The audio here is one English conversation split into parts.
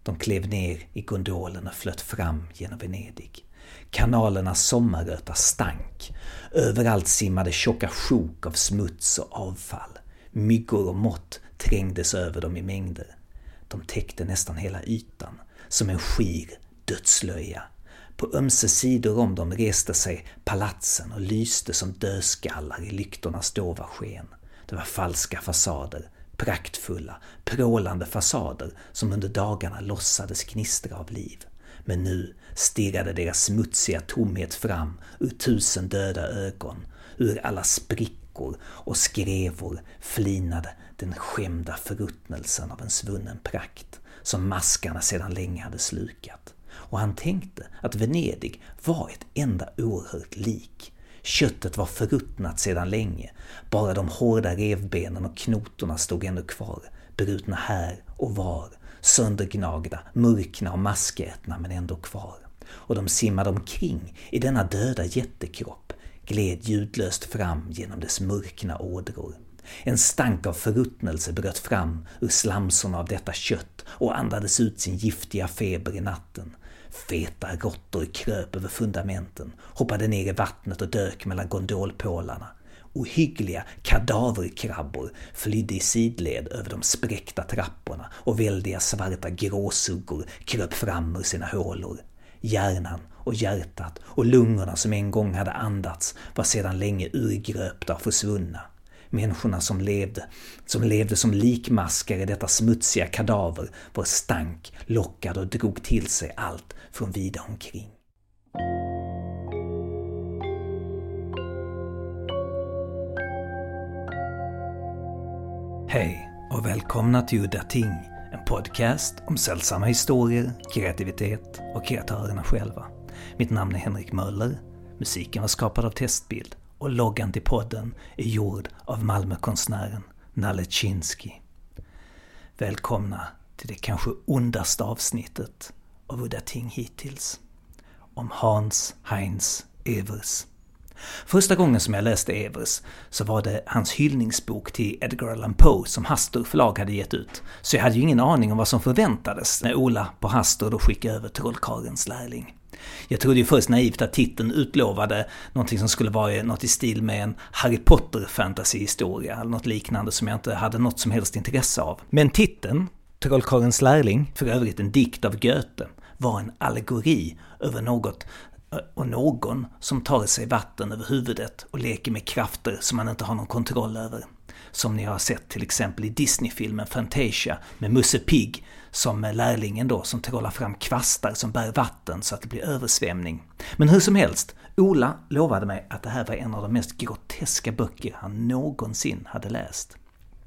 De klev ner i gondolen och flöt fram genom Venedig. Kanalernas sommarröta stank. Överallt simmade tjocka sjok av smuts och avfall. Myggor och mått trängdes över dem i mängder. De täckte nästan hela ytan, som en skir dödslöja. På ömse sidor om dem reste sig palatsen och lyste som dödskallar i lyktornas dova sken. Det var falska fasader, praktfulla, prålande fasader som under dagarna låtsades gnistra av liv. Men nu stirrade deras smutsiga tomhet fram ur 1000 döda ögon. Ur alla sprickor och skrevor flinade den skämda förruttnelsen av en svunnen prakt som maskarna sedan länge hade slukat. Och han tänkte att Venedig var ett enda oerhört lik. Köttet var förruttnat sedan länge, bara de hårda revbenen och knotorna stod ännu kvar, brutna här och var, söndergnagda, mörkna och maskätna men ändå kvar. Och de simmade omkring i denna döda jättekropp, gled ljudlöst fram genom dess mörkna ådror. En stank av förruttnelse bröt fram ur slamsorna av detta kött och andades ut sin giftiga feber i natten. Feta råttor kröp över fundamenten, hoppade ner i vattnet och dök mellan gondolpålarna. Ohyggliga kadaverkrabbor flydde i sidled över de spräckta trapporna och väldiga svarta gråsuggor kröp fram ur sina hålor. Hjärnan och hjärtat och lungorna som en gång hade andats var sedan länge urgröpta och försvunna. Människorna som levde som likmaskar i detta smutsiga kadaver var stank, lockade och drog till sig allt från vida omkring. Hej och välkomna till Udda Ting, en podcast om sällsamma historier, kreativitet och kreatörerna själva. Mitt namn är Henrik Möller, musiken var skapad av Testbild och loggan till podden är gjord av Malmökonstnären Nalle Chinsky. Välkomna till det kanske ondaste avsnittet av Udda Ting hittills. Om Hans Heinz Evers. Första gången som jag läste Evers så var det hans hyllningsbok till Edgar Allan Poe som Hastur förlag hade gett ut. Så jag hade ju ingen aning om vad som förväntades när Ola på Hastur då skickade över Trollkarlens lärling. Jag trodde ju först naivt att titeln utlovade någonting som skulle vara något i stil med en Harry Potter-fantasyhistoria eller något liknande som jag inte hade något som helst intresse av. Men titeln, Trollkarlens lärling, för övrigt en dikt av Goethe, var en allegori över något och någon som tar sig vatten över huvudet och leker med krafter som man inte har någon kontroll över. Som ni har sett till exempel i Disney-filmen Fantasia med Musse Pigg som lärlingen då som trollar fram kvastar som bär vatten så att det blir översvämning. Men hur som helst, Ola lovade mig att det här var en av de mest groteska böcker han någonsin hade läst.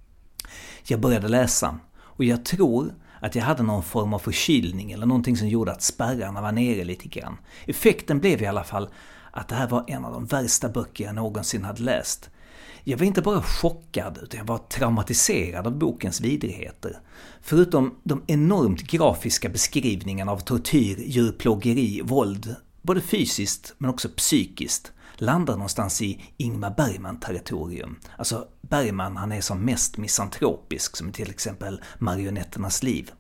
Jag började läsa och jag tror att jag hade någon form av förkylning eller någonting som gjorde att spärrarna var nere lite grann. Effekten blev i alla fall att det här var en av de värsta böcker jag någonsin hade läst. Jag var inte bara chockad utan jag var traumatiserad av bokens vidrigheter. Förutom de enormt grafiska beskrivningarna av tortyr, djurplågeri, våld, både fysiskt men också psykiskt, landar någonstans i Ingmar Bergman-territorium. Alltså Bergman, han är som mest misantropisk som till exempel Marionetternas liv.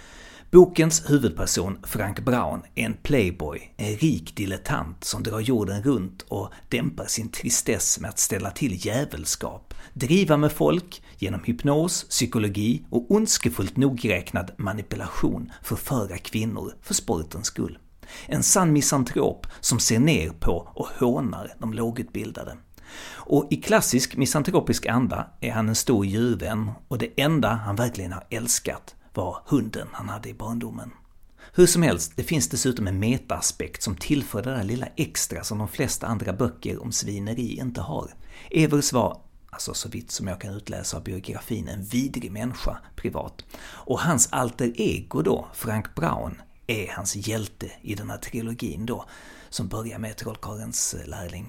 Bokens huvudperson Frank Braun är en playboy, en rik dilettant som drar jorden runt och dämpar sin tristess med att ställa till djävulskap, driva med folk genom hypnos, psykologi och ondskefullt nogräknad manipulation förföra kvinnor för sportens skull. En sann misantrop som ser ner på och hånar de lågutbildade. Och i klassisk misantropisk anda är han en stor djurvän och det enda han verkligen har älskat var hunden han hade i barndomen. Hur som helst, det finns dessutom en metaaspekt som tillför det där lilla extra som de flesta andra böcker om svineri inte har. Evers var, alltså så vitt som jag kan utläsa av biografin, en vidrig människa privat. Och hans alter ego då, Frank Braun, är hans hjälte i den här trilogin då, som börjar med Trollkarlens lärling.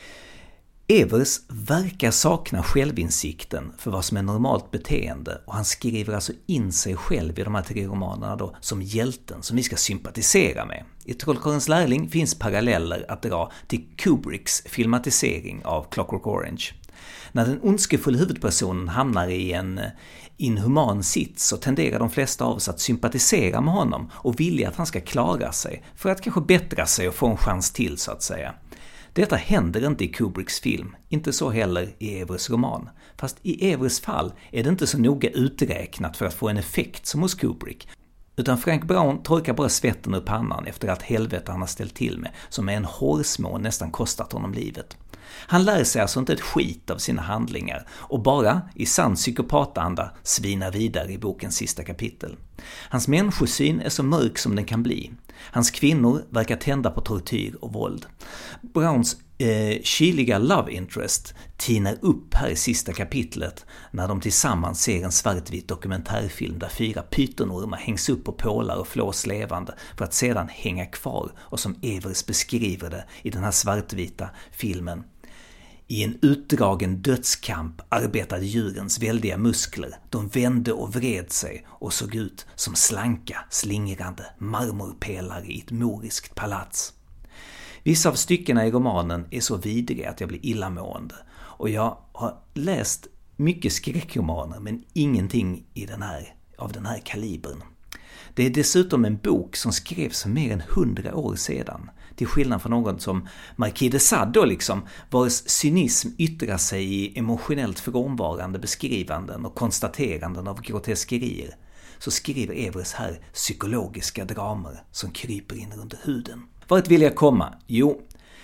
Evers verkar sakna självinsikten för vad som är normalt beteende och han skriver alltså in sig själv i de här 3 romanerna då som hjälten som vi ska sympatisera med. I Trollkarlens lärling finns paralleller att dra till Kubricks filmatisering av Clockwork Orange. När den ondskefulla huvudpersonen hamnar i inhuman sits så tenderar de flesta av oss att sympatisera med honom och vilja att han ska klara sig för att kanske bättra sig och få en chans till så att säga. Detta händer inte i Kubricks film, inte så heller i Evers roman. Fast i Evers fall är det inte så noga uträknat för att få en effekt som hos Kubrick. Utan Frank Brown torkar bara svetten ur pannan efter allt helvete han har ställt till med, som med en hårsmån nästan kostat honom livet. Han lär sig alltså inte ett skit av sina handlingar och bara i sann psykopatanda svinar vidare i bokens sista kapitel. Hans människosyn är så mörk som den kan bli. Hans kvinnor verkar tända på tortyr och våld. Browns kyliga love interest tinar upp här i sista kapitlet när de tillsammans ser en svartvit dokumentärfilm där 4 pytonormar hängs upp på pålar och flås levande för att sedan hänga kvar, och som Evers beskriver det i den här svartvita filmen. I en utdragen dödskamp arbetade djurens väldiga muskler. De vände och vred sig och såg ut som slanka, slingrande marmorpelare i ett moriskt palats. Vissa av styckena i romanen är så vidriga att jag blir illamående. Och jag har läst mycket skräckromaner men ingenting av den här kalibern. Det är dessutom en bok som skrevs för mer än 100 år sedan. Till skillnad från någon som Marquis de Sade vars cynism yttrar sig i emotionellt frånvarande beskrivanden och konstateranden av groteskerier, så skriver Evers här psykologiska dramer som kryper in under huden. Vart vill jag komma? Jo,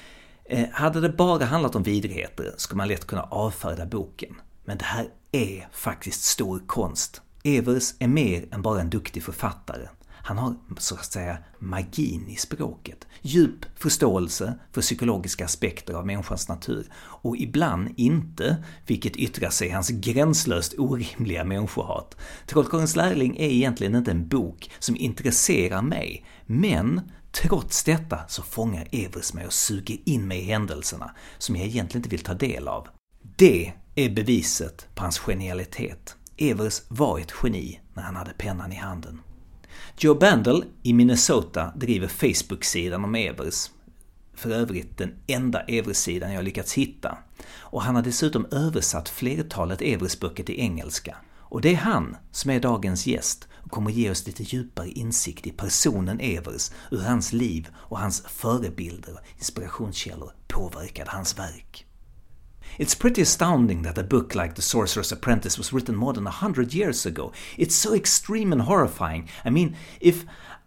hade det bara handlat om vidrigheter skulle man lätt kunna avfärda boken. Men det här är faktiskt stor konst. Evers är mer än bara en duktig författare. Han har så att säga magin i språket, djup förståelse för psykologiska aspekter av människans natur och ibland inte, vilket yttrar sig i hans gränslöst orimliga människohat. Trollkarlens lärling är egentligen inte en bok som intresserar mig, men trots detta så fångar Evers mig och suger in mig i händelserna som jag egentligen inte vill ta del av. Det är beviset på hans genialitet. Evers var ett geni när han hade pennan i handen. Joe Bandel i Minnesota driver Facebook-sidan om Evers. För övrigt den enda Evers-sidan jag lyckats hitta. Och han har dessutom översatt flertalet Evers-böcker till engelska. Och det är han som är dagens gäst och kommer ge oss lite djupare insikt i personen Evers, hur hans liv och hans förebilder och inspirationskällor påverkade hans verk. It's pretty astounding that a book like The Sorcerer's Apprentice was written more than 100 years ago. It's so extreme and horrifying. I mean, if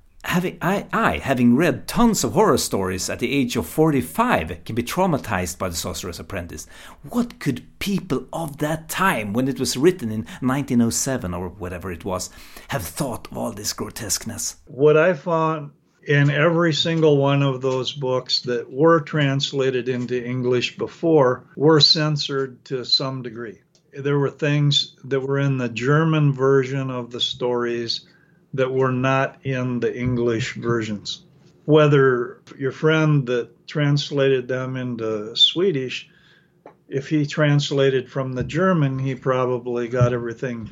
having read tons of horror stories at the age of 45 can be traumatized by The Sorcerer's Apprentice, what could people of that time, when it was written in 1907 or whatever it was, have thought of all this grotesqueness? What I found in every single one of those books that were translated into English before were censored to some degree. There were things that were in the German version of the stories that were not in the English versions. Whether your friend that translated them into Swedish, if he translated from the German, he probably got everything.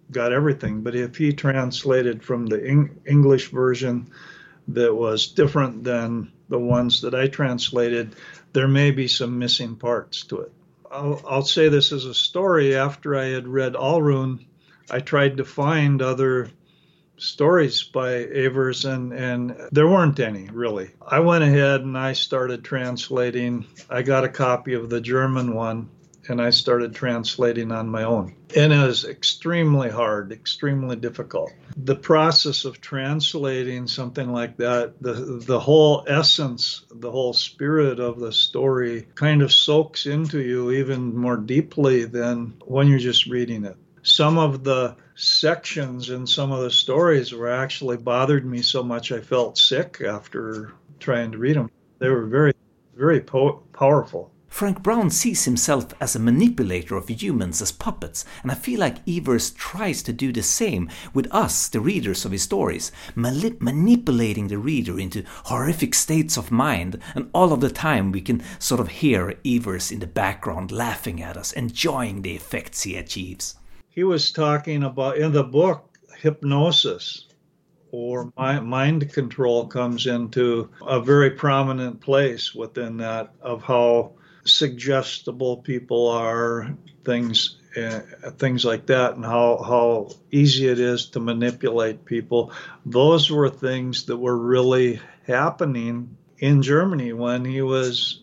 But if he translated from the English version that was different than the ones that I translated, there may be some missing parts to it. I'll say this as a story. After I had read Alrune, I tried to find other stories by Evers, and there weren't any, really. I went ahead and I started translating. I got a copy of the German one, and I started translating on my own. And it was extremely hard, extremely difficult. The process of translating something like that, the whole essence, the whole spirit of the story kind of soaks into you even more deeply than when you're just reading it. Some of the sections in some of the stories were actually bothered me so much I felt sick after trying to read them. They were very, very powerful. Frank Brown sees himself as a manipulator of humans as puppets, and I feel like Evers tries to do the same with us, the readers of his stories, manipulating the reader into horrific states of mind, and all of the time we can sort of hear Evers in the background laughing at us, enjoying the effects he achieves. He was talking about, in the book, hypnosis or mind control comes into a very prominent place within that, of how suggestible people are, things, things like that, and how easy it is to manipulate people. Those were things that were really happening in Germany when he was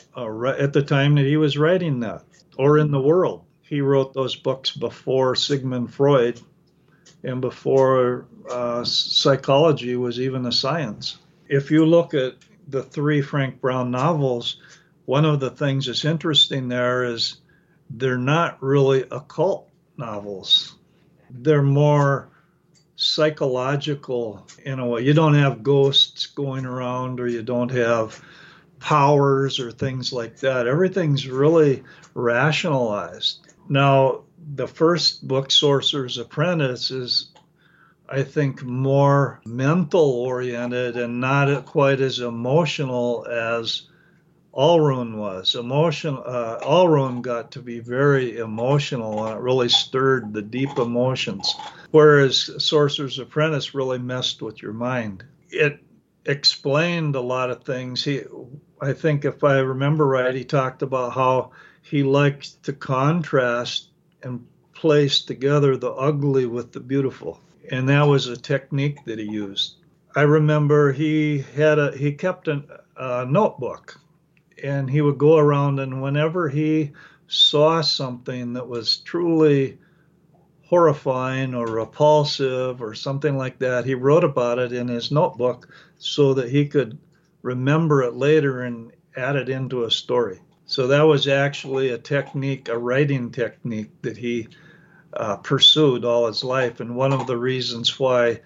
at the time that he was writing that, or in the world. He wrote those books before Sigmund Freud and before psychology was even a science. If you look at the 3 Frank Brown novels, one of the things that's interesting there is they're not really occult novels. They're more psychological in a way. You don't have ghosts going around, or you don't have powers or things like that. Everything's really rationalized. Now, the first book, Sorcerer's Apprentice, is, I think, more mental oriented and not quite as emotional as Allrune was. Allrune got to be very emotional, and it really stirred the deep emotions, whereas Sorcerer's Apprentice really messed with your mind. It explained a lot of things. I think, if I remember right, he talked about how he liked to contrast and place together the ugly with the beautiful, and that was a technique that he used. I remember he kept a notebook, and he would go around, and whenever he saw something that was truly horrifying or repulsive or something like that, he wrote about it in his notebook so that he could remember it later and add it into a story. So that was actually a writing technique that he pursued all his life. And one of the reasons why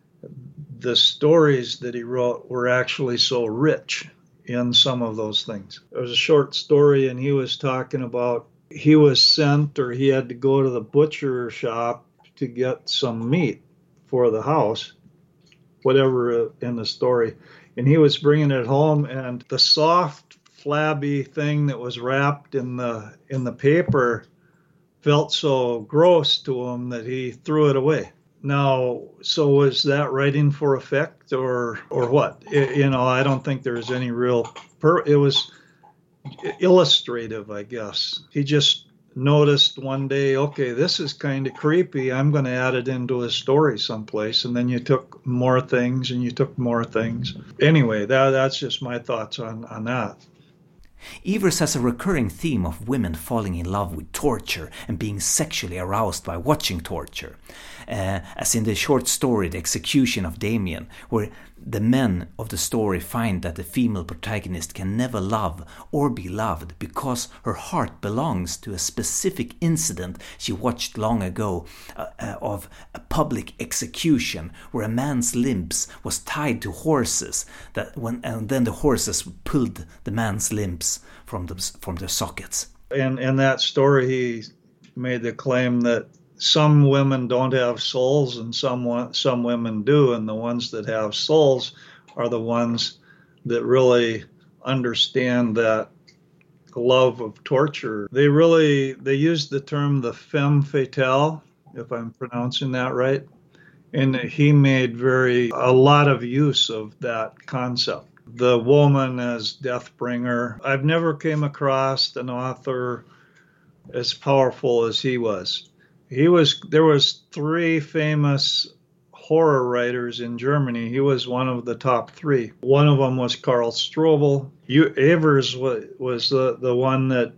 the stories that he wrote were actually so rich in some of those things. There was a short story, and he was talking about he was sent, or he had to go to the butcher shop to get some meat for the house, whatever in the story. And he was bringing it home, and the soft, flabby thing that was wrapped in the paper felt so gross to him that he threw it away. Now, so was that writing for effect or what? I don't think there was any real it was illustrative, I guess. He just noticed one day, okay, this is kind of creepy. I'm going to add it into a story someplace. And then you took more things and you took more things. Anyway, that's just my thoughts on that. Evers has a recurring theme of women falling in love with torture and being sexually aroused by watching torture. As in the short story The Execution of Damien, where the men of the story find that the female protagonist can never love or be loved because her heart belongs to a specific incident she watched long ago of a public execution where a man's limbs was tied to horses and then the horses pulled the man's limbs from their sockets. In that story, he made the claim that some women don't have souls and some women do, and the ones that have souls are the ones that really understand that love of torture. They use the term the femme fatale, if I'm pronouncing that right, and he made a lot of use of that concept. The woman as death bringer. I've never came across an author as powerful as he was. There was 3 famous horror writers in Germany. He was one of the top 3. One of them was Karl Strobel. Evers was the one that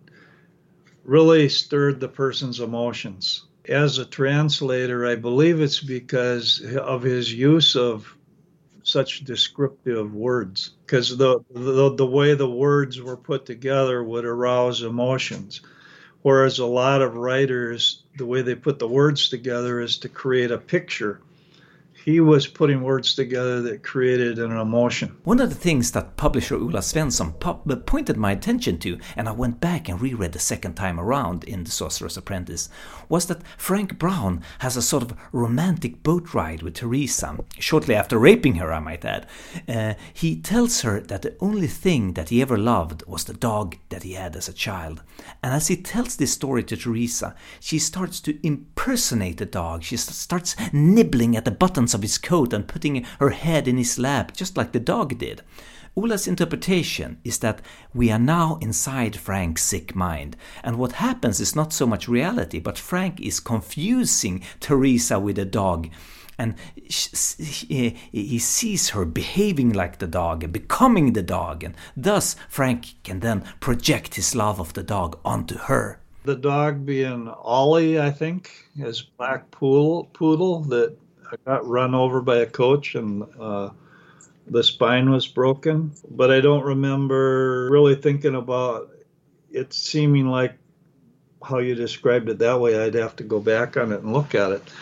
really stirred the person's emotions. As a translator, I believe it's because of his use of such descriptive words, because the way the words were put together would arouse emotions. Whereas a lot of writers, the way they put the words together is to create a picture. He was putting words together that created an emotion. One of the things that publisher Ola Svensson pointed my attention to, and I went back and reread the second time around in The Sorcerer's Apprentice, was that Frank Brown has a sort of romantic boat ride with Teresa, shortly after raping her, I might add. He tells her that the only thing that he ever loved was the dog that he had as a child. And as he tells this story to Teresa, she starts to impersonate the dog. She starts nibbling at the buttons buttons of his coat and putting her head in his lap, just like the dog did. Ola's interpretation is that we are now inside Frank's sick mind, and what happens is not so much reality, but Frank is confusing Teresa with the dog, and he sees her behaving like the dog and becoming the dog, and thus Frank can then project his love of the dog onto her. The dog being Ollie, I think, his black poodle that got run over by a coach and the spine was broken. But I don't remember really thinking about it seeming like how you described it that way. I'd have to go back on it and look at it.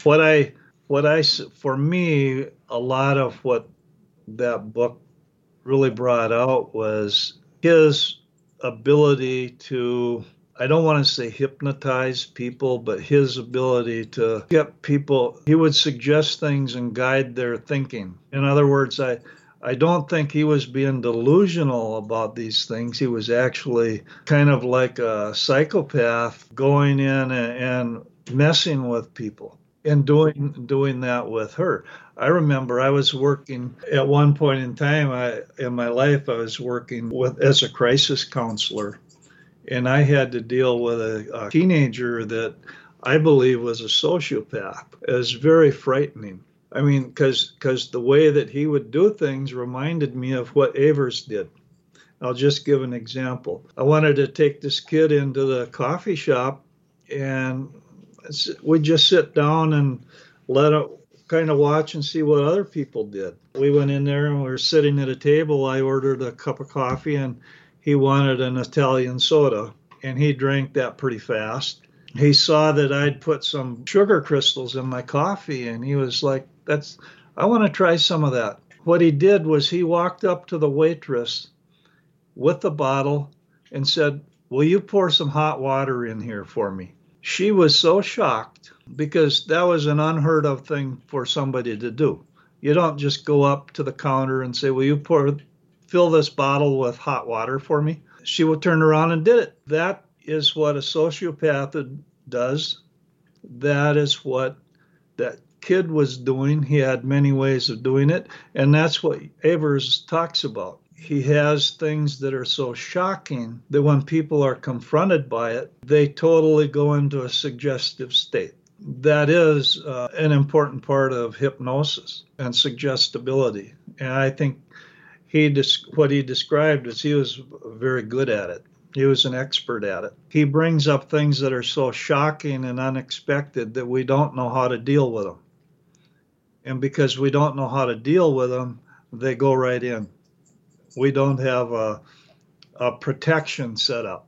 For me, a lot of what that book really brought out was his ability to, I don't want to say hypnotize people, but his ability to get people, he would suggest things and guide their thinking. In other words, I don't think he was being delusional about these things. He was actually kind of like a psychopath going in and messing with people and doing that with her. I remember I was working at one point in time in my life, I was working as a crisis counselor. And I had to deal with a teenager that I believe was a sociopath. It was very frightening. I mean, because the way that he would do things reminded me of what Evers did. I'll just give an example. I wanted to take this kid into the coffee shop, and we'd just sit down and let it kind of watch and see what other people did. We went in there and we were sitting at a table. I ordered a cup of coffee, and he wanted an Italian soda, and he drank that pretty fast. He saw that I'd put some sugar crystals in my coffee, and he was like, I want to try some of that. What he did was he walked up to the waitress with the bottle and said, "Will you pour some hot water in here for me?" She was so shocked because that was an unheard of thing for somebody to do. You don't just go up to the counter and say, "Will you fill this bottle with hot water for me?" She would turn around and did it. That is what a sociopath does. That is what that kid was doing. He had many ways of doing it, and that's what Evers talks about. He has things that are so shocking that when people are confronted by it, they totally go into a suggestive state. That is an important part of hypnosis and suggestibility. And I think what he described is he was very good at it. He was an expert at it. He brings up things that are so shocking and unexpected that we don't know how to deal with them. And because we don't know how to deal with them, they go right in. We don't have a protection set up.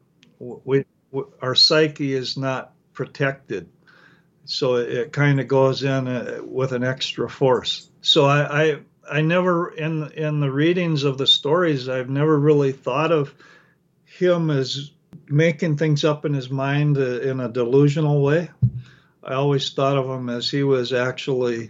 Our psyche is not protected. So it kind of goes in with an extra force. So I never, in the readings of the stories, I've never really thought of him as making things up in his mind in a delusional way. I always thought of him as he was actually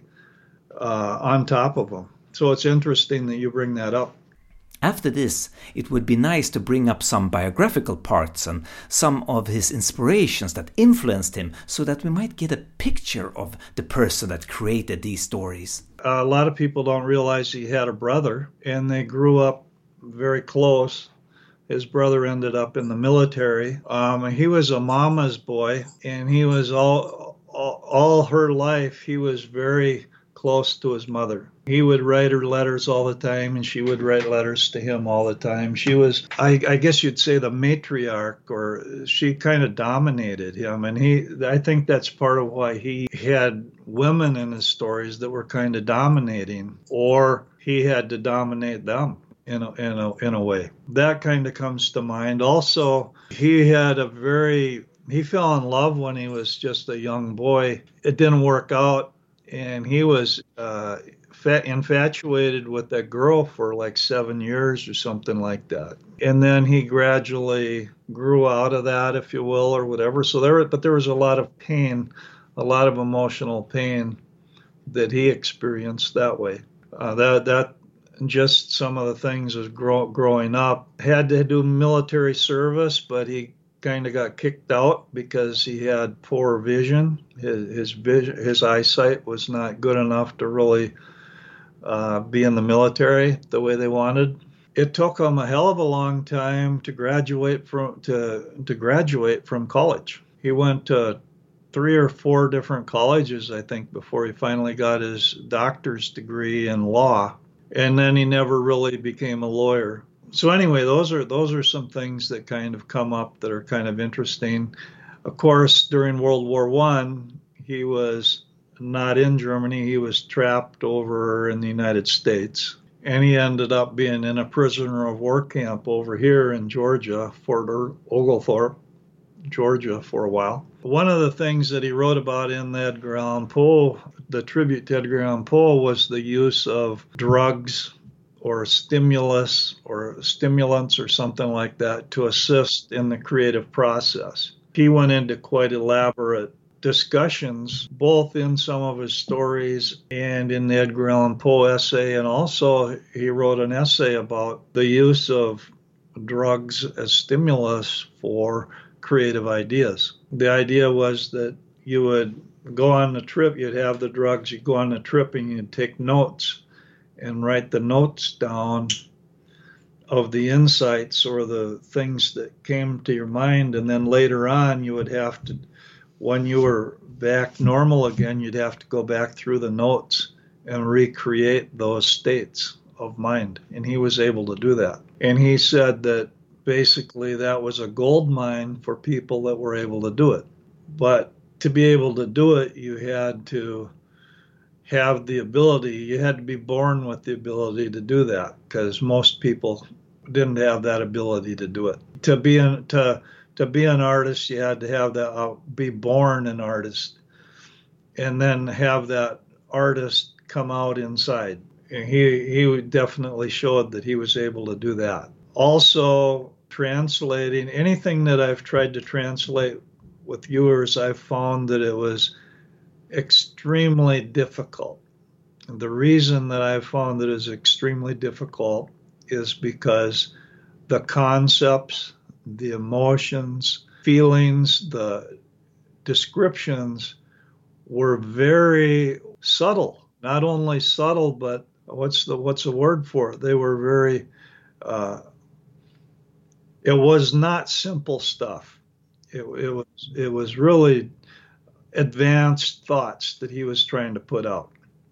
on top of them. So it's interesting that you bring that up. After this, it would be nice to bring up some biographical parts and some of his inspirations that influenced him so that we might get a picture of the person that created these stories. A lot of people don't realize he had a brother, and they grew up very close. His brother ended up in the military. He was a mama's boy, and he was all her life, he was very close to his mother. He would write her letters all the time, and she would write letters to him all the time. She was, I guess you'd say, the matriarch, or she kind of dominated him. And I think that's part of why he had women in his stories that were kind of dominating, or he had to dominate them in a way. That kind of comes to mind. Also, he fell in love when he was just a young boy. It didn't work out, and he was infatuated with that girl for like 7 years or something like that. And then he gradually grew out of that, if you will, or whatever. So there was a lot of pain, a lot of emotional pain that he experienced that way. That just some of the things as growing up. Had to do military service, but he kind of got kicked out because he had poor vision. His eyesight was not good enough to really be in the military the way they wanted. It took him a hell of a long time to graduate from college. He went to 3 or 4 different colleges, I think, before he finally got his doctor's degree in law, and then he never really became a lawyer. So anyway, those are some things that kind of come up that are kind of interesting. Of course, during World War I, he was not in Germany. He was trapped over in the United States. And he ended up being in a prisoner of war camp over here in Georgia, Fort Oglethorpe, Georgia, for a while. One of the things that he wrote about in the Edgar Allan Poe, the tribute to Edgar Allan Poe, was the use of drugs or stimulus or stimulants or something like that to assist in the creative process. He went into quite elaborate discussions, both in some of his stories and in the Edgar Allan Poe essay, and also he wrote an essay about the use of drugs as stimulus for creative ideas. The idea was that you would go on the trip, you'd have the drugs, you'd go on the trip and you'd take notes and write the notes down of the insights or the things that came to your mind, and then later on you would have to, when you were back normal again, you'd have to go back through the notes and recreate those states of mind. And he was able to do that. And he said that basically that was a gold mine for people that were able to do it. But to be able to do it, you had to have the ability, you had to be born with the ability to do that, because most people didn't have that ability to do it. To be an artist, you had to have that, be born an artist, and then have that artist come out inside. And he definitely showed that he was able to do that. Also, translating anything that I've tried to translate with viewers, I've found that it was extremely difficult. And the reason that I've found that it is extremely difficult is because the concepts, the emotions, feelings, the descriptions were very subtle. Not only subtle, but what's the word for it? They were very, it was not simple stuff. It was really advanced thoughts that he was trying to put out.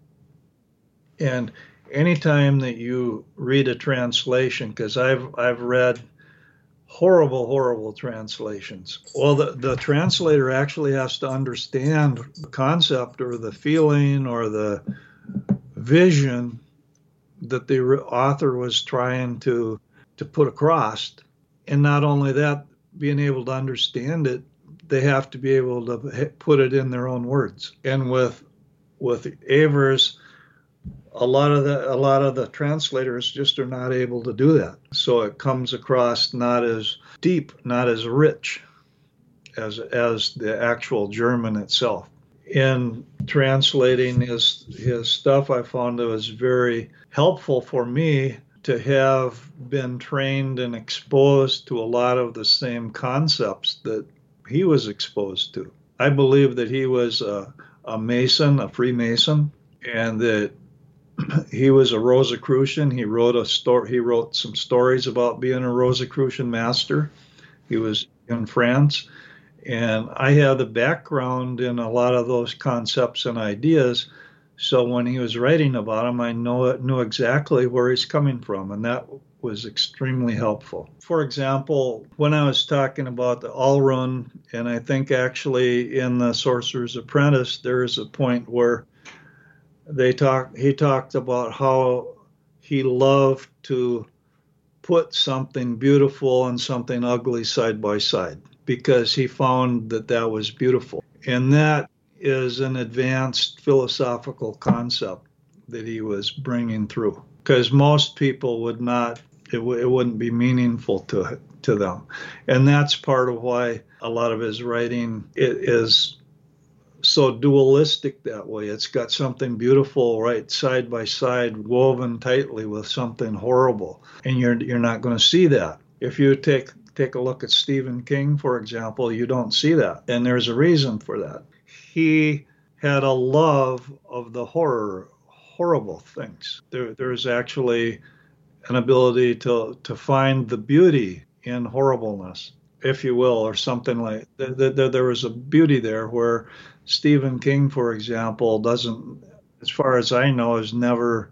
And anytime that you read a translation, because I've read horrible translations. Well, the translator actually has to understand the concept or the feeling or the vision that the author was trying to put across. And not only that, being able to understand it, they have to be able to put it in their own words. And with Evers, a lot of the translators just are not able to do that. So it comes across not as deep, not as rich as the actual German itself. In translating his stuff, I found it was very helpful for me to have been trained and exposed to a lot of the same concepts that he was exposed to. I believe that he was a Mason, a Freemason, and that he was a Rosicrucian. He wrote some stories about being a Rosicrucian master. He was in France, and I have the background in a lot of those concepts and ideas. So when he was writing about them, I knew exactly where he's coming from, and that was extremely helpful. For example, when I was talking about the Alrune, and I think actually in the Sorcerer's Apprentice, there is a point where he talked about how he loved to put something beautiful and something ugly side by side because he found that was beautiful. And that is an advanced philosophical concept that he was bringing through, because most people would not, it wouldn't be meaningful to them. And that's part of why a lot of his writing is so dualistic that way. It's got something beautiful right side by side, woven tightly with something horrible. And you're not going to see that. If you take take a look at Stephen King, for example, you don't see that. And there's a reason for that. He had a love of the horrible things. There's actually an ability to find the beauty in horribleness, if you will, or something like that. There was a beauty there where Stephen King, for example, doesn't, as far as I know, has never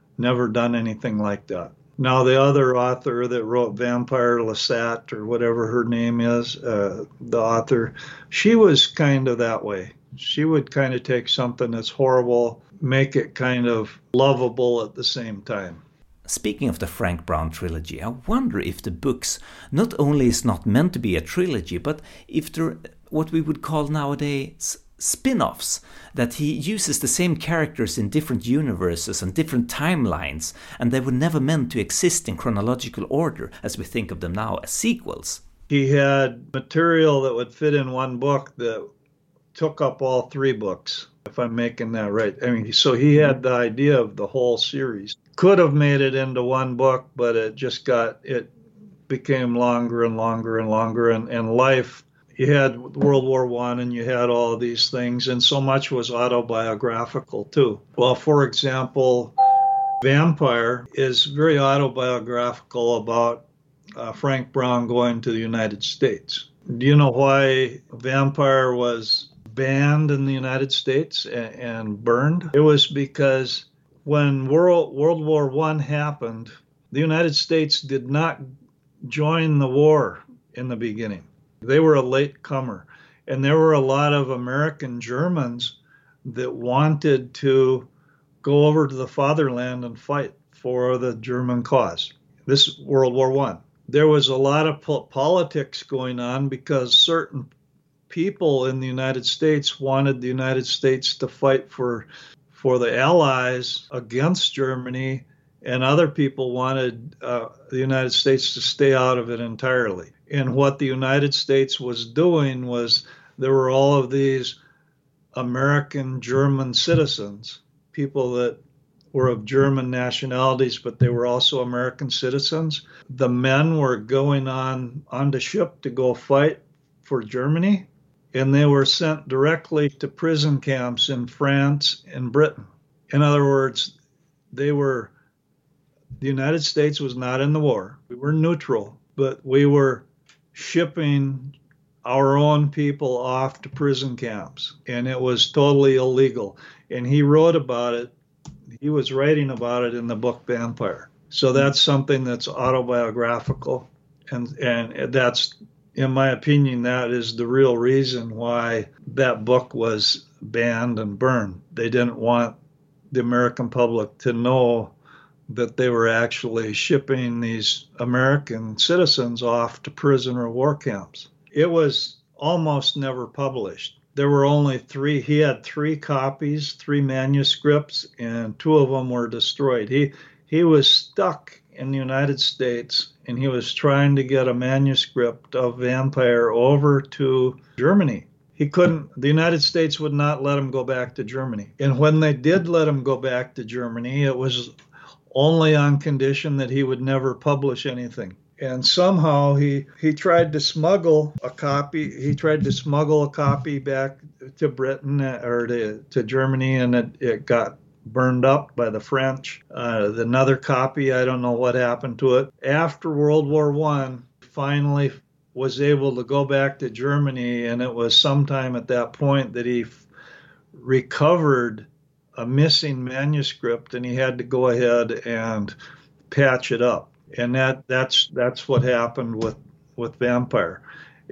done anything like that. Now, the other author that wrote Vampire Lestat, or whatever her name is, the author, she was kind of that way. She would kind of take something that's horrible, make it kind of lovable at the same time. Speaking of the Frank Brown trilogy, I wonder if the books not only is not meant to be a trilogy, but if they're what we would call nowadays spin-offs, that he uses the same characters in different universes and different timelines, and they were never meant to exist in chronological order as we think of them now as sequels. He had material that would fit in one book that took up all three books, if I'm making that right. I mean, so he had the idea of the whole series. Could have made it into one book, but it became longer and longer and longer, and life. You had World War I and you had all of these things, and so much was autobiographical too. Well, for example, Vampire is very autobiographical about Frank Brown going to the United States. Do you know why Vampire was banned in the United States and burned? It was because when World War I happened, the United States did not join the war in the beginning. They were a late comer, and there were a lot of American Germans that wanted to go over to the fatherland and fight for the German cause. This is World War I. There was a lot of politics going on because certain people in the United States wanted the United States to fight for the Allies against Germany, and other people wanted the United States to stay out of it entirely. And what the United States was doing was there were all of these American German citizens, people that were of German nationalities, but they were also American citizens. The men were going on the ship to go fight for Germany, and they were sent directly to prison camps in France and Britain. In other words, the United States was not in the war. We were neutral, but we were shipping our own people off to prison camps, and it was totally illegal. And he wrote about it. He was writing about it in the book Vampire. So that's something that's autobiographical, and that's, in my opinion, that is the real reason why that book was banned and burned. They didn't want the American public to know that they were actually shipping these American citizens off to prison or war camps. It was almost never published. There were only three. He had three copies, three manuscripts, and two of them were destroyed. He was stuck in the United States, and he was trying to get a manuscript of Vampire over to Germany. He couldn't. The United States would not let him go back to Germany. And when they did let him go back to Germany, it was only on condition that he would never publish anything. And somehow he tried to smuggle a copy. He tried to smuggle a copy back to Britain or to Germany, and it got burned up by the French. Another copy, I don't know what happened to it. After World War I, finally was able to go back to Germany, and it was sometime at that point that he recovered a missing manuscript, and he had to go ahead and patch it up. And that's what happened with Vampire.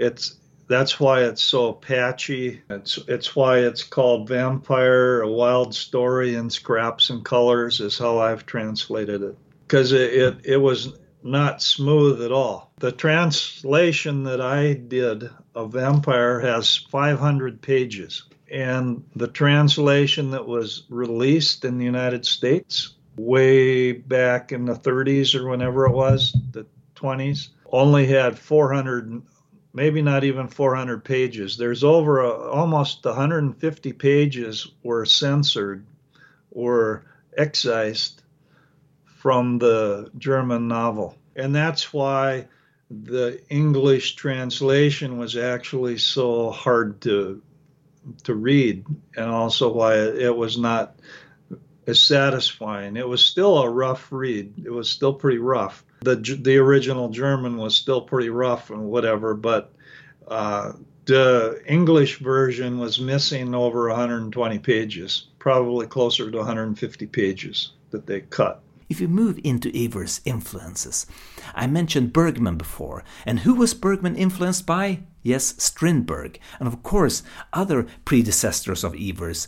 That's why it's so patchy. It's why it's called Vampire: A Wild Story in Scraps and Colors, is how I've translated it, because it was not smooth at all. The translation that I did of Vampire has 500 pages. And the translation that was released in the United States way back in the 30s or whenever it was, the 20s, only had 400, maybe not even 400 pages. There's over almost 150 pages were censored or excised from the German novel. And that's why the English translation was actually so hard to read, and also why it was not as satisfying. It was still a rough read. It was still pretty rough. The original German was still pretty rough and whatever, but the English version was missing over 120 pages, probably closer to 150 pages that they cut. If we move into Evers' influences, I mentioned Bergman before, and who was Bergman influenced by? Yes, Strindberg, and of course other predecessors of Evers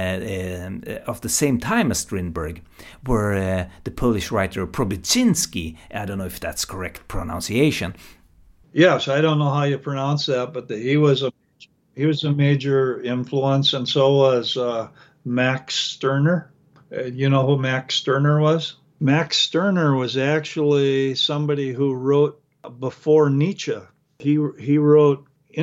of the same time as Strindberg were the Polish writer Probitzinski. I don't know if that's correct pronunciation. Yes, I don't know how you pronounce that, but he was a major influence, and so was Max Stirner. You know who Max Stirner was? Max Stirner was actually somebody who wrote before Nietzsche. He wrote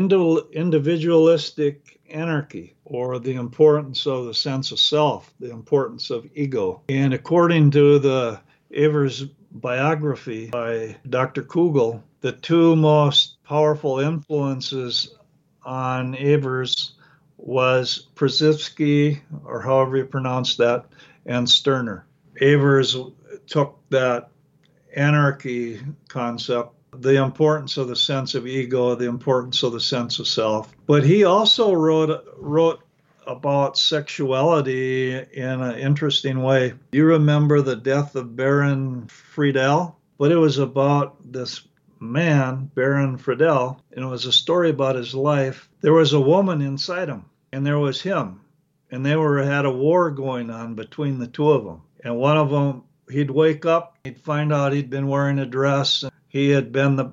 Individualistic Anarchy, or The Importance of the Sense of Self, The Importance of Ego. And according to the Evers biography by Dr. Kugel, the two most powerful influences on Evers was Przewski, or however you pronounce that, and Stirner. Evers took that anarchy concept, the importance of the sense of ego, the importance of the sense of self. But he also wrote about sexuality in an interesting way. You remember the death of Baron Friedel? But it was about this man, Baron Friedel, and it was a story about his life. There was a woman inside him, and there was him. And they had a war going on between the two of them. And one of them, he'd wake up, he'd find out he'd been wearing a dress, and he had been the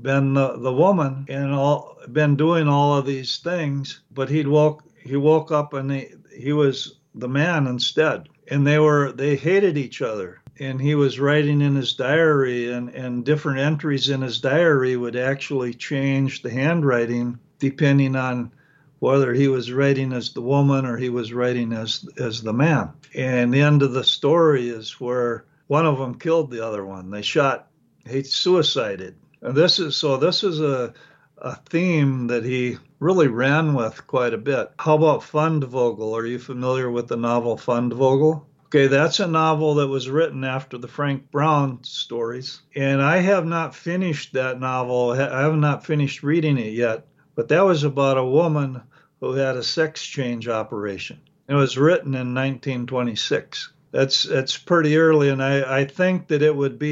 woman and been doing all of these things, but he woke up and he was the man instead. And they hated each other. And he was writing in his diary, and different entries in his diary would actually change the handwriting depending on whether he was writing as the woman or he was writing as the man. And the end of the story is where one of them killed the other one. He suicided. And this is a theme that he really ran with quite a bit. How about Fundvogel? Are you familiar with the novel Fundvogel? Okay, that's a novel that was written after the Frank Brown stories. And I have not finished that novel. I have not finished reading it yet. But that was about a woman who had a sex change operation. It was written in 1926. That's pretty early, and I think that it would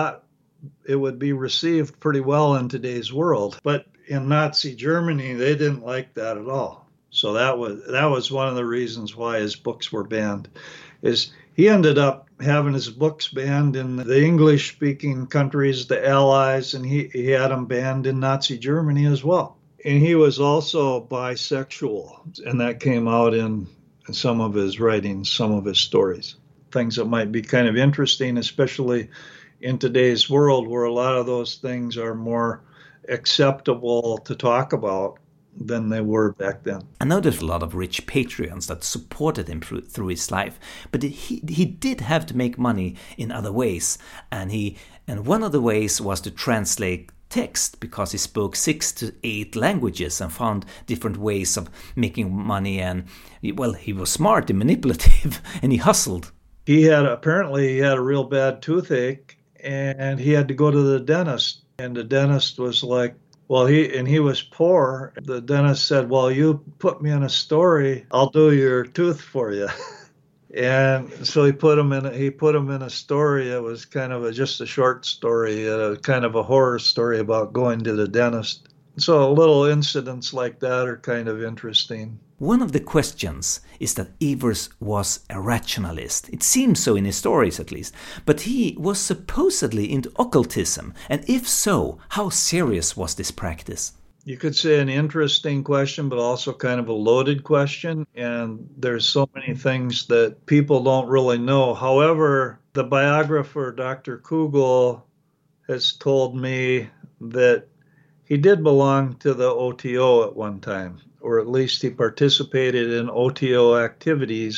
be received pretty well in today's world. But in Nazi Germany, they didn't like that at all. So that was one of the reasons why his books were banned. Is he ended up having his books banned in the English-speaking countries, the Allies, and he had them banned in Nazi Germany as well. And he was also bisexual, and that came out in some of his writings, some of his stories. Things that might be kind of interesting, especially in today's world where a lot of those things are more acceptable to talk about than they were back then. I know there's a lot of rich Patreons that supported him through his life, but he did have to make money in other ways, and one of the ways was to translate text, because he spoke 6 to 8 languages and found different ways of making money. And well, he was smart and manipulative, and he hustled. He had a real bad toothache, and he had to go to the dentist. And the dentist was like, well, he was poor. The dentist said, well, you put me in a story, I'll do your tooth for you. And so he put him in a story. It was kind of just a short story, kind of a horror story about going to the dentist. So little incidents like that are kind of interesting. One of the questions is that Evers was a rationalist. It seems so in his stories, at least. But he was supposedly into occultism. And if so, how serious was this practice? You could say an interesting question, but also kind of a loaded question. And there's so many things that people don't really know. However, the biographer, Dr. Kugel, has told me that he did belong to the OTO at one time, or at least he participated in OTO activities.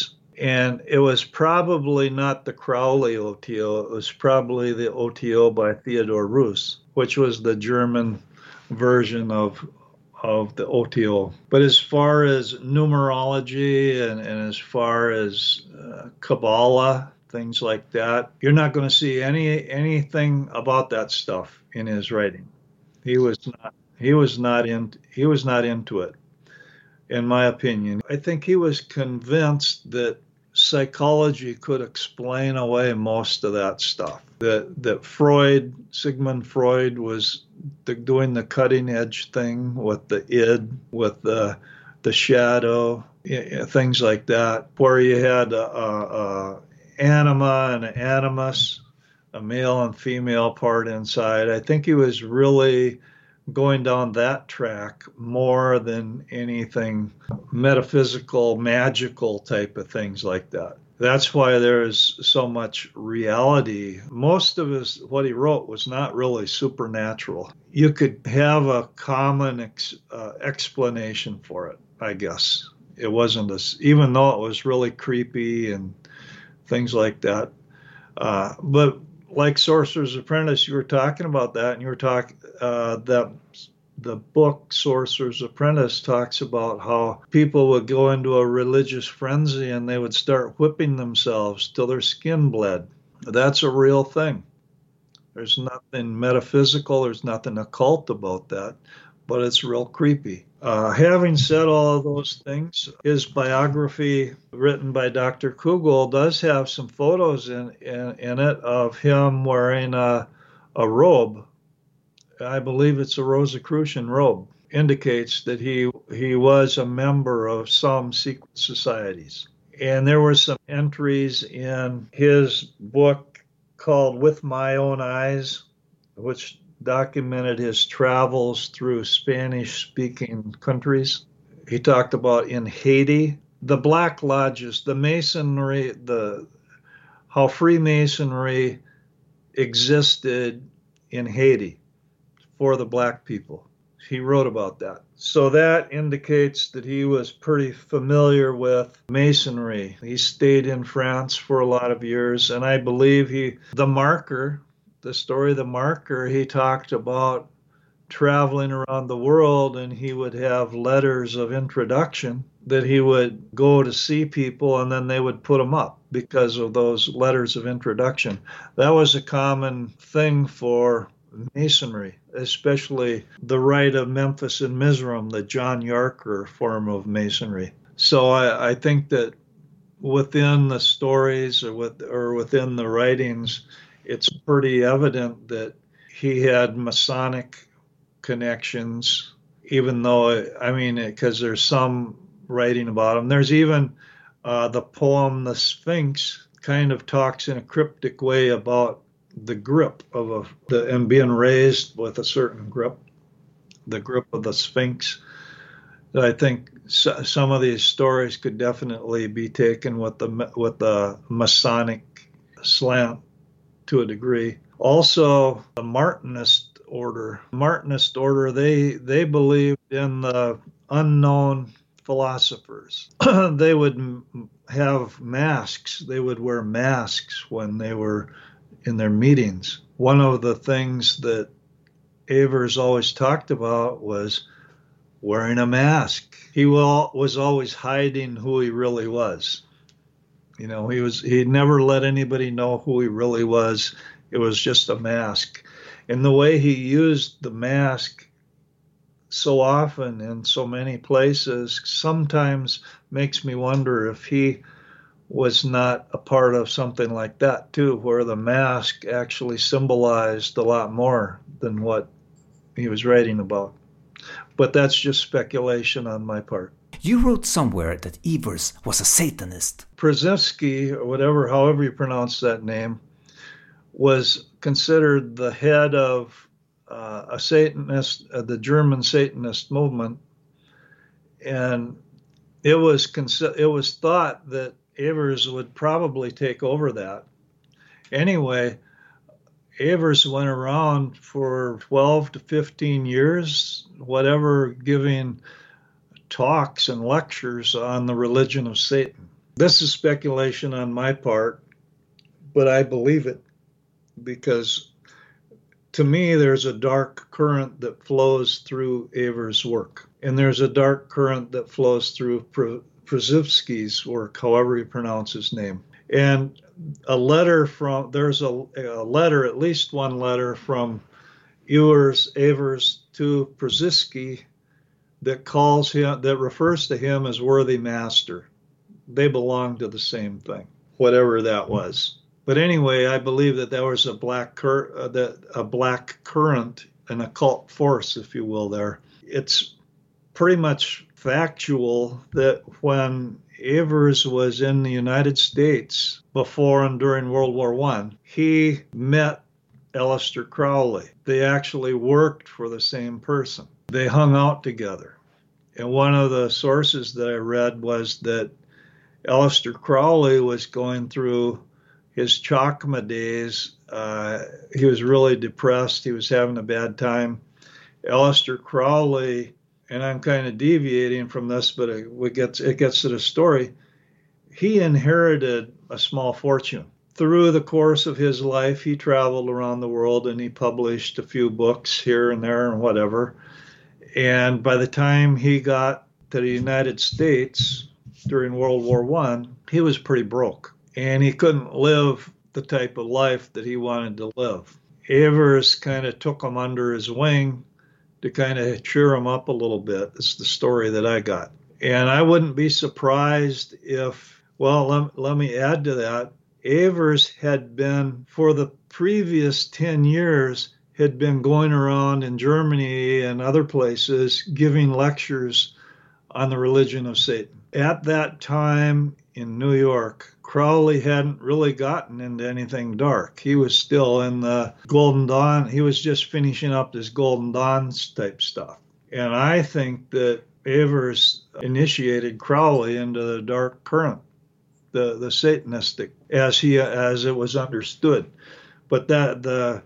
And it was probably not the Crowley OTO. It was probably the OTO by Theodore Reuss, which was the German version of the OTO. But as far as numerology and as far as Kabbalah, things like that, you're not going to see anything about that stuff in his writing. He was not into it, in my opinion. I think he was convinced that psychology could explain away most of that stuff. That Sigmund Freud was doing the cutting edge thing with the id, with the shadow, things like that, where you had a anima and an animus, a male and female part inside. I think he was really going down that track more than anything metaphysical, magical type of things like that. That's why there's so much reality. Most of what he wrote was not really supernatural. You could have a common explanation for it, I guess. It wasn't even though it was really creepy and things like that. But like Sorcerer's Apprentice, you were talking about that, and you were talking that the book Sorcerer's Apprentice talks about how people would go into a religious frenzy and they would start whipping themselves till their skin bled. That's a real thing. There's nothing metaphysical, there's nothing occult about that, but it's real creepy. Having said all of those things, his biography written by Dr. Kugel does have some photos in it of him wearing a robe. I believe it's a Rosicrucian robe. Indicates that he was a member of some secret societies. And there were some entries in his book called With My Own Eyes, which documented his travels through Spanish-speaking countries. He talked about in Haiti, the Black Lodges, the Masonry, how Freemasonry existed in Haiti for the black people. He wrote about that. So that indicates that he was pretty familiar with Masonry. He stayed in France for a lot of years, and I believe the story of the marker, he talked about traveling around the world, and he would have letters of introduction that he would go to see people, and then they would put them up because of those letters of introduction. That was a common thing for Masonry, especially the Rite of Memphis and Mizraim, the John Yarker form of Masonry. So I think that within the stories or within the writings, it's pretty evident that he had Masonic connections, even though, because there's some writing about him. There's even the poem The Sphinx kind of talks in a cryptic way about the grip and being raised with a certain grip, the grip of the Sphinx. I think some of these stories could definitely be taken with the Masonic slant to a degree. Also, the Martinist order. They believed in the unknown philosophers. They would have masks. They would wear masks when they were in their meetings. One of the things that Evers always talked about was wearing a mask. He was always hiding who he really was. He never let anybody know who he really was. It was just a mask. And the way he used the mask so often in so many places sometimes makes me wonder if he was not a part of something like that too, where the mask actually symbolized a lot more than what he was writing about. But that's just speculation on my part. You wrote somewhere that Evers was a Satanist. Przewalski, or however you pronounce that name, was considered the head of a Satanist, the German Satanist movement, and it was thought that Evers would probably take over that. Anyway, Evers went around for 12 to 15 years, giving talks and lectures on the religion of Satan. This is speculation on my part, but I believe it because to me there's a dark current that flows through Evers' work. And there's a dark current that flows through Przewski's work, however you pronounce his name. And there's a letter, at least one letter from Evers to Przewski that refers to him as worthy master. They belong to the same thing, whatever that was. But anyway, I believe that there was a black current, an occult force, if you will, there. It's pretty much factual that when Evers was in the United States before and during World War I, he met Aleister Crowley. They actually worked for the same person. They hung out together. And one of the sources that I read was that Aleister Crowley was going through his Chakma days. He was really depressed. He was having a bad time. Aleister Crowley, and I'm kind of deviating from this, but it gets to the story. He inherited a small fortune. Through the course of his life, he traveled around the world and he published a few books here and there and whatever. And by the time he got to the United States during World War I, he was pretty broke. And he couldn't live the type of life that he wanted to live. Evers kind of took him under his wing to kind of cheer him up a little bit. It's the story that I got. And I wouldn't be surprised if, well, let me add to that. Evers had been, for the previous 10 years, had been going around in Germany and other places giving lectures on the religion of Satan. At that time in New York, Crowley hadn't really gotten into anything dark. He was still in the Golden Dawn. He was just finishing up this Golden Dawn type stuff. And I think that Evers initiated Crowley into the dark current, the Satanistic, as it was understood. But that the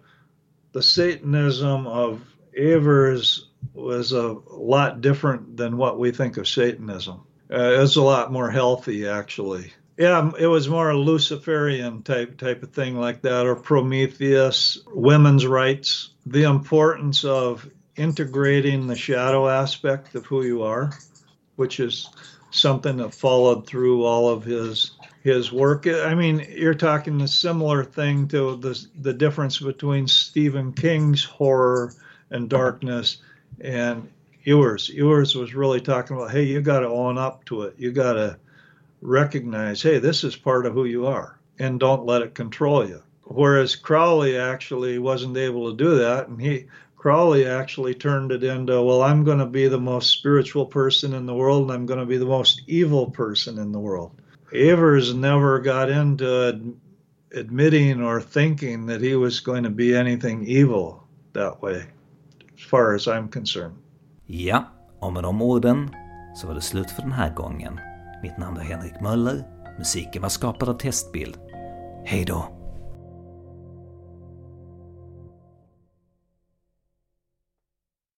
Satanism of Evers was a lot different than what we think of Satanism. It was a lot more healthy, actually. Yeah, it was more a Luciferian type of thing like that, or Prometheus, women's rights, the importance of integrating the shadow aspect of who you are, which is something that followed through all of his work. I mean, you're talking a similar thing to the difference between Stephen King's horror and darkness and Ewers. Ewers was really talking about, hey, you got to own up to it. You got to recognize, hey, this is part of who you are, and don't let it control you. Whereas Crowley actually wasn't able to do that, and Crowley actually turned it into, well, I'm going to be the most spiritual person in the world, and I'm going to be the most evil person in the world. Evers never got into admitting or thinking that he was going to be anything evil that way, as far as I'm concerned. Ja, och med de orden så var det slut för den här gången. Mitt namn är Henrik Möller. Musiken var skapad av Testbild. Hej då!